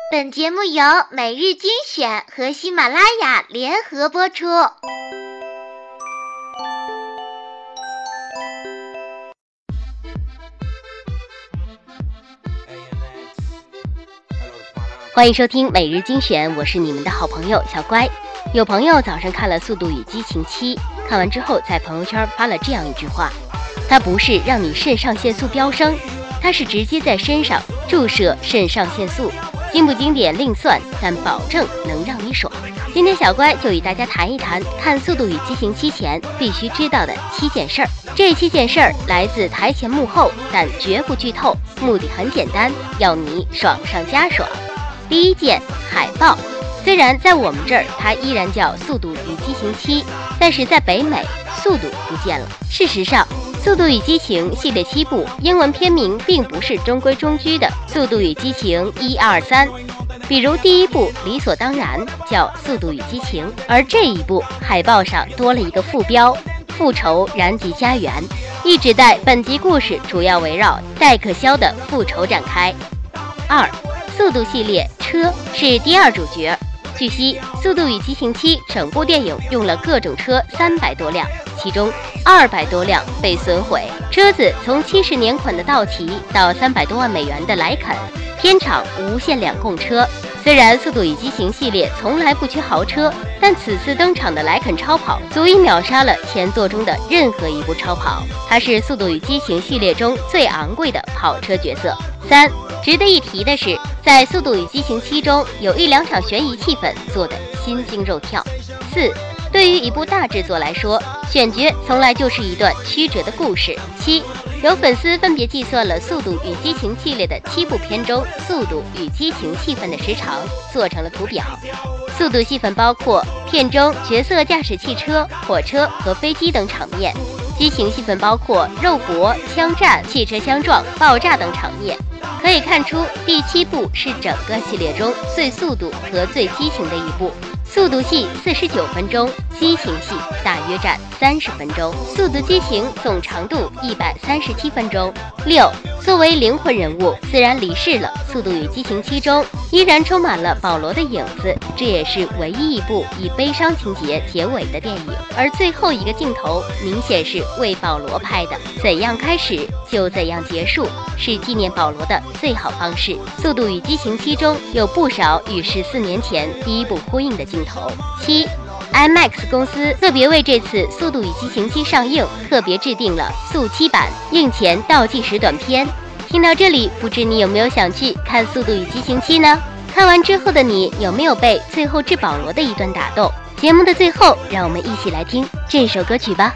本节目由每日精选和喜马拉雅联合播出。欢迎收听每日精选，我是你们的好朋友小乖。有朋友早上看了《速度与激情7》，看完之后在朋友圈发了这样一句话：它不是让你肾上腺素飙升，它是直接在身上注射肾上腺素。经不经典另算，但保证能让你爽。今天小乖就与大家谈一谈看《速度与激情7》前必须知道的7件事儿。这7件事儿来自台前幕后，但绝不剧透，目的很简单，要你爽上加爽。第一件，海报。虽然在我们这儿它依然叫《速度与激情7》，但是在北美速度不见了。事实上，《速度与激情》系列7部英文片名并不是中规中矩的《速度与激情1、2、3》，比如第一部理所当然叫《速度与激情》，而这一部海报上多了一个副标“复仇燃极家园”，意指代本集故事主要围绕戴克肖的复仇展开。2. 速度系列车是第二主角。据悉，《速度与激情7》整部电影用了各种车300多辆，其中200多辆被损毁。车子从70年款的道奇到300多万美元的莱肯，片场无限两供车。虽然《速度与激情》系列从来不缺豪车，但此次登场的莱肯超跑足以秒杀了前作中的任何一部超跑，它是《速度与激情》系列中最昂贵的跑车角色。3. 值得一提的是，在《速度与激情7》中有1、2场悬疑气氛做得心惊肉跳。4. 对于一部大制作来说，选角从来就是一段曲折的故事。7. 有粉丝分别计算了《速度与激情》系列的7部片中速度与激情戏份的时长，做成了图表。速度戏份包括片中角色驾驶汽车、火车和飞机等场面；激情戏份包括肉搏、枪战、汽车相撞、爆炸等场面。可以看出，第7部是整个系列中最速度和最激情的一部。速度戏49分钟，激情戏大约占30分钟。速度激情总长度137分钟。6. 作为灵魂人物，虽然离世了，《速度与激情7》中依然充满了保罗的影子，这也是唯一一部以悲伤情节结尾的电影。而最后一个镜头明显是为保罗拍的，怎样开始就怎样结束，是纪念保罗的最好方式。《速度与激情7》中有不少与14年前第一部呼应的镜头。7. IMAX 公司特别为这次《速度与激情7》上映特别制定了速7版映前倒计时短片。听到这里，不知你有没有想去看《速度与激情7》呢？看完之后的你有没有被最后致保罗的一段打动？节目的最后，让我们一起来听这首歌曲吧。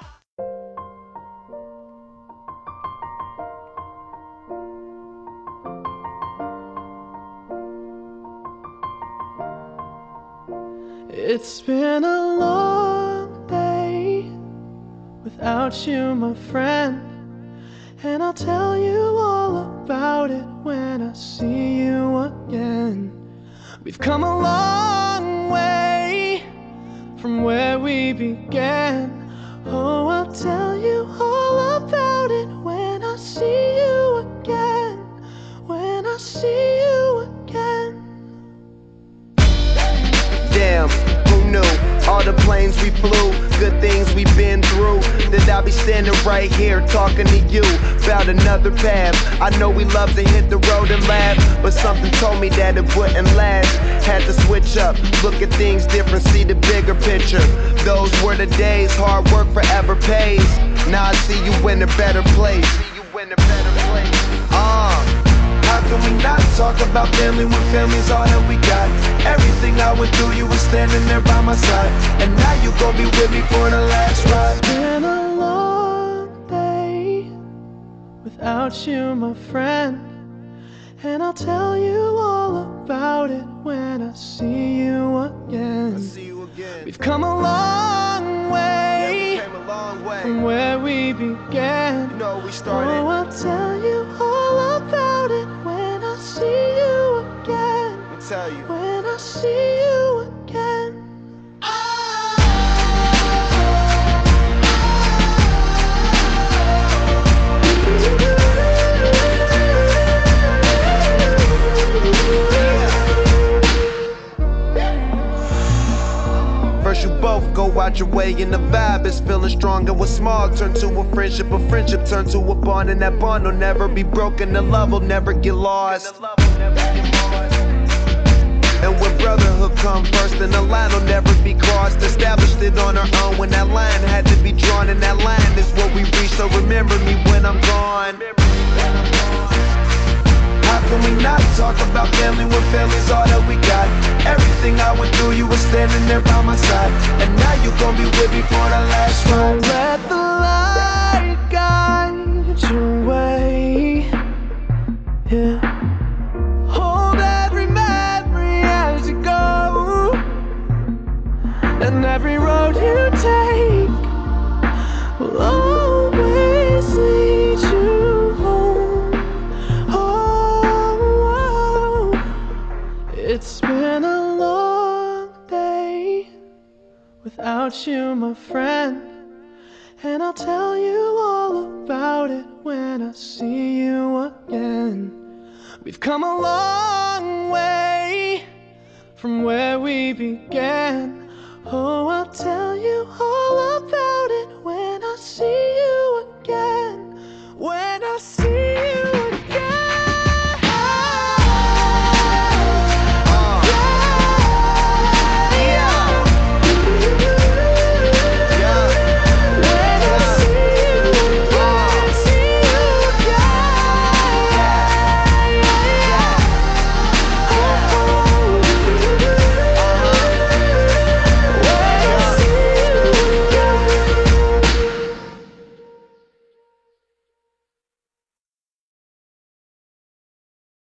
It's been a long day without you, my friend, and I'll tell you all about it when I see you again. We've come a long way from where we began. Oh, I'll tell you all about it when I see you again, when I see you again. Damn, who knew? All the planes we flew, good things we've been through, that I'll be standing right here talking to you about another path. I know we love to hit the road and laugh, but something told me that it wouldn't last. Had to switch up, look at things different, see the bigger picture. Those were the days, hard work forever pays. Now I see you in a better place. How can we not talk about family when family's all that we got? Everything I went through, you were standing there by my side, and now you gon' be with me for the last ride. It's been a long day without you, my friend, and I'll tell you all about it when I see you again. We've come a long way, from where we began. You know we started. Oh, I'll tell you all about it when I see you again. I'll tell you. When I see you again. got your way and the vibe is feeling strong. And what's small turn to a friendship turn to a bond, and that bond will never be broken, the love will never get lost. And when brotherhood come first, then the line will never be crossed. Established it on our own when that line had to be drawn, and that line is what we reach, so remember me when I'm gone. How can we not talk about family when family's all that we got? Everything I went through, you were standing there by my side, and now you gon' be with me for the last ride. Let the light guide your way. Yeah. Hold every memory as you go, and every road you take will always lead you home. Oh, it's been a long day without you, my friend, and I'll tell you all about it when I see you again. We've come a long way from where we began. Oh, I'll tell you all about it when I see you.